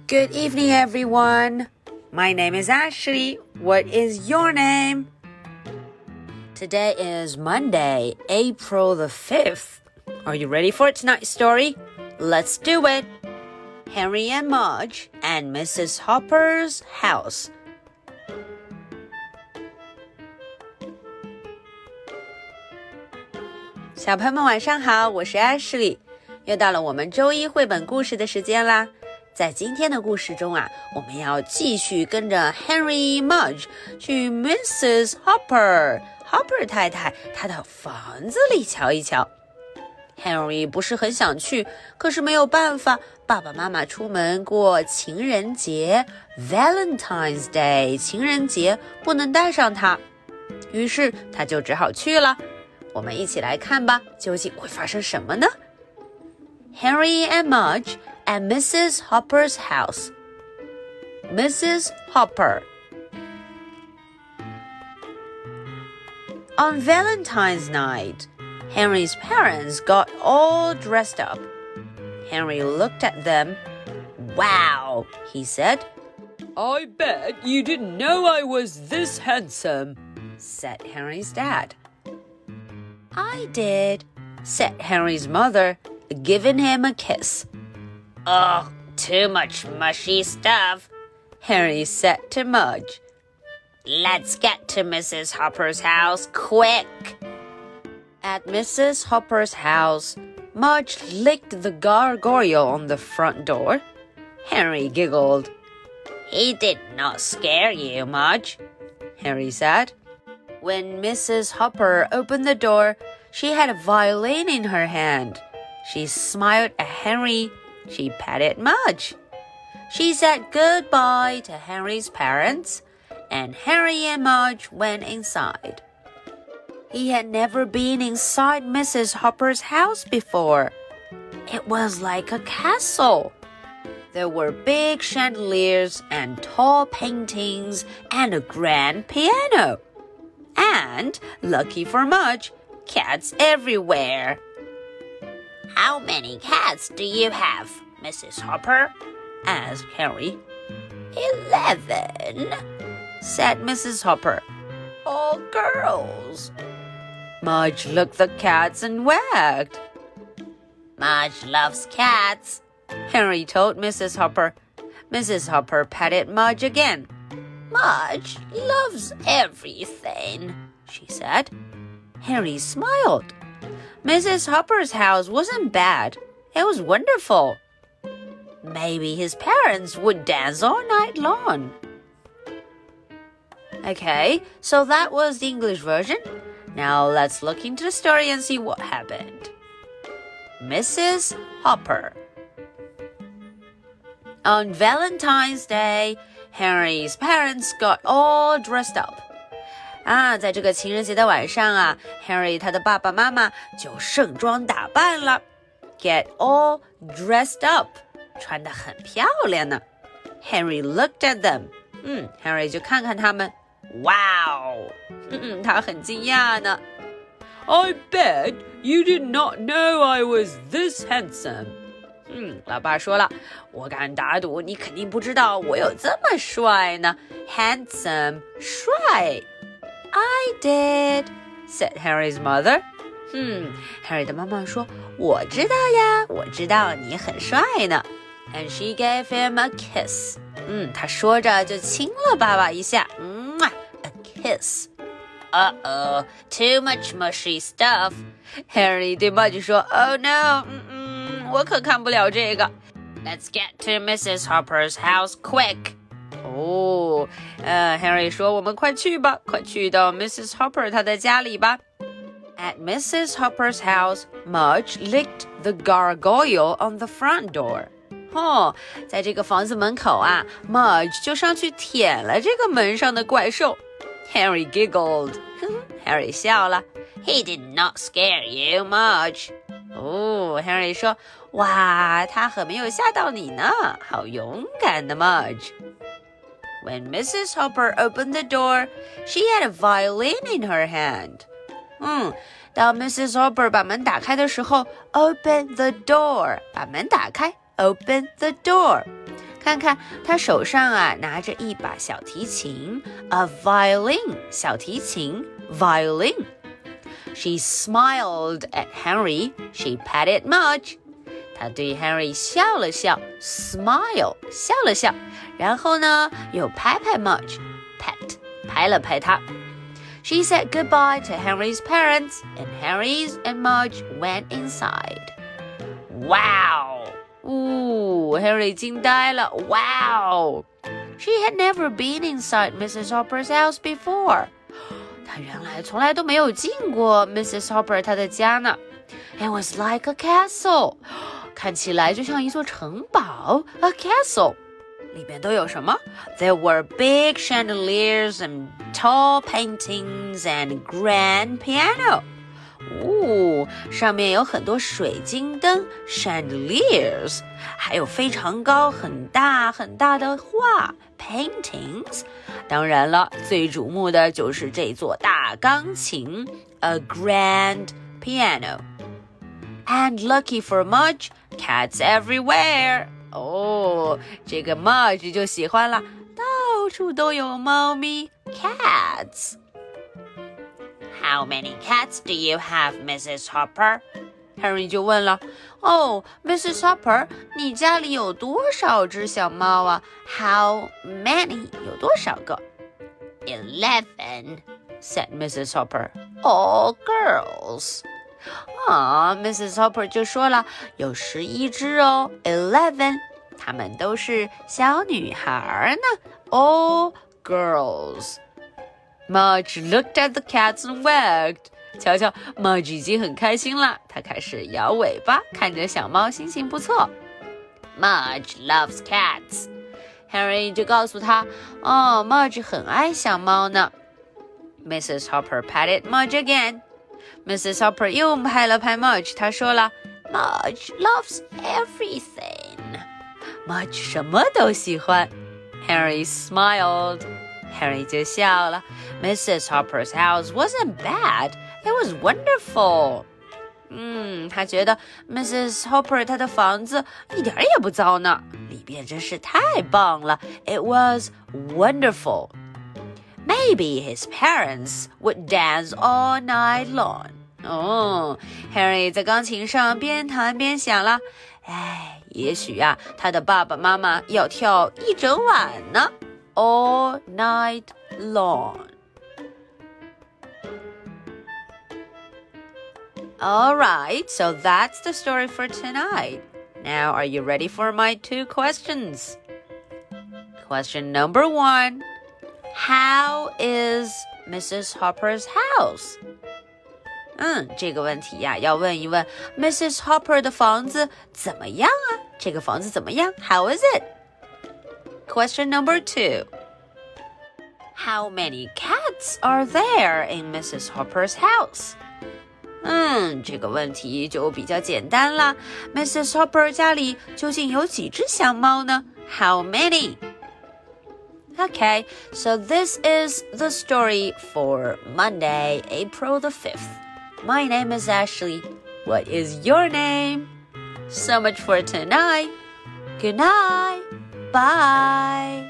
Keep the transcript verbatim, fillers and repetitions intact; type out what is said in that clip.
Good evening, everyone. My name is Ashley. What is your name? Today is Monday, April the fifth. Are you ready for tonight's story? Let's do it. Henry and Mudge and Missus Hopper's house. 小朋友们晚上好，我是 Ashley。又到了我们周一绘本故事的时间啦。在今天的故事中啊，我们要继续跟着 Henry Mudge 去 Missus Hopper Hopper 太太她的房子里瞧一瞧。Henry 不是很想去，可是没有办法，爸爸妈妈出门过情人节 Valentine's Day 情人节不能带上他，于是他就只好去了。我们一起来看吧，究竟会发生什么呢？ Henry and Mudge at Missus Hopper's house. Missus Hopper. On Valentine's night, Henry's parents got all dressed up. Henry looked at them. Wow, he said. I bet you didn't know I was this handsome, said Henry's dad. I did, said Henry's mother, giving him a kiss. Oh, too much mushy stuff, Henry said to Mudge. Let's get to Missus Hopper's house, quick. At Missus Hopper's house, Mudge licked the gargoyle on the front door. Henry giggled. He did not scare you, Mudge, Henry said. When Missus Hopper opened the door, she had a violin in her hand. She smiled at Henry. She patted Mudge. She said goodbye to Henry's parents, and Henry and Mudge went inside. He had never been inside Missus Hopper's house before. It was like a castle. There were big chandeliers and tall paintings and a grand piano. And, lucky for Mudge, cats everywhere. How many cats do you have, Missus Hopper? asked Henry. Eleven, said Missus Hopper. All girls. Mudge looked at the cats and wagged. Mudge loves cats, Henry told Missus Hopper. Missus Hopper patted Mudge again. Mudge loves everything, she said. Henry smiled. Missus Hopper's house wasn't bad. It was wonderful. Maybe his parents would dance all night long. Okay, so that was the English version. Now let's look into the story and see what happened. Missus Hopper. On Valentine's Day, Henry's parents got all dressed up. 啊，在这个情人节的晚上啊 Henry 他的爸爸妈妈就盛装打扮了 Get all dressed up 穿得很漂亮呢 Henry looked at them 嗯 Henry 就看看他们 Wow 嗯嗯他很惊讶呢 I bet you did not know I was this handsome 嗯，老爸说了，我敢打赌你肯定不知道我有这么帅呢 Handsome 帅 I did, said Harry's mother. 嗯 Harry 的妈妈说，我知道呀，我知道你很帅呢 And she gave him a kiss. 嗯，她说着就亲了爸爸一下 A kiss. Uh-oh, too much mushy stuff. Harry 对 Mudge 说 Oh no, 嗯嗯，我可看不了这个 Let's get to Missus Hopper's house quick. 哦，呃 Henry 说我们快去吧，快去到 Missus Hopper 她的家里吧。At Missus Hopper's house, Mudge licked the gargoyle on the front door. 哦，在这个房子门口啊 Mudge 就上去舔了这个门上的怪兽。Henry giggled. Harry 笑了。 He did not scare you, Mudge. 哦 Henry 说，哇，他可没有吓到你呢，好勇敢的 Mudge。When Missus Hopper opened the door, she had a violin in her hand. 嗯，当 Missus Hopper 把门打开的时候 ，open the door， 把门打开 ，open the door， 看看他手上啊拿着一把小提琴 ，a violin， 小提琴 violin。She smiled at Henry. She patted Mudge. 她对 Henry 笑了笑 ，smile 笑了笑，然后呢又拍拍 Mudge， pat 拍了拍他。She said goodbye to Henry's parents, and Henry and Mudge went inside. Wow! Ooh, Henry 惊呆了 Wow! She had never been inside Missus Hopper's house before. 她原来从来都没有进过 Missus Hopper 她的家呢。It was like a castle. 看起来就像一座城堡 A castle. 里边都有什么 There were big chandeliers and tall paintings and grand piano. 哦，上面有很多水晶灯 chandeliers， 还有非常高很大很大的画 paintings。当然了，最瞩目的就是这座大钢琴 a grand piano。And lucky for Mudge, cats everywhere. 哦，这个 Mudge 就喜欢了，到处都有猫咪 cats。How many cats do you have, Missus Hopper? Henry 就问了，哦 ，Missus Hopper， 你家里有多少只小猫啊 ？How many 有多少个 ？Eleven, said Missus Hopper. All girls. 啊 ，Missus Hopper 就说了，有十一只哦 ，Eleven， 她们都是小女孩呢 ，All girls。Mudge looked at the cats and wagged. 瞧瞧 ，Mudge 已经很开心了，他开始摇尾巴，看着小猫，心情不错。 Mudge loves cats. Henry 就告诉他，哦 ，Mudge 很爱小猫呢。Missus Hopper patted Mudge again. Missus Hopper 又拍了拍 Mudge， 她说了 ，Mudge loves everything. Mudge 什么都喜欢。Henry smiled.Henry 就笑了 Missus Hopper's house wasn't bad. It was wonderful. 嗯，他觉得 Missus Hopper 她的房子一点也不糟呢，里边真是太棒了 It was wonderful. Maybe his parents would dance all night long. 哦 Henry 在钢琴上边弹边想了，哎，也许啊，他的爸爸妈妈要跳一整晚呢All night long. All right, so that's the story for tonight. Now, are you ready for my two questions? Question number one. How is Missus Hopper's house? 嗯，这个问题呀，要问一问 Missus Hopper 的房子怎么样啊？这个房子怎么样 ？How is it?Question number two. How many cats are there in Missus Hopper's house? 嗯，这个问题就比较简单了。Missus Hopper 家里究竟有几只小猫呢 ？How many? Okay, so this is the story for Monday, April the fifth. My name is Ashley. What is your name? So much for tonight. Good night. Bye.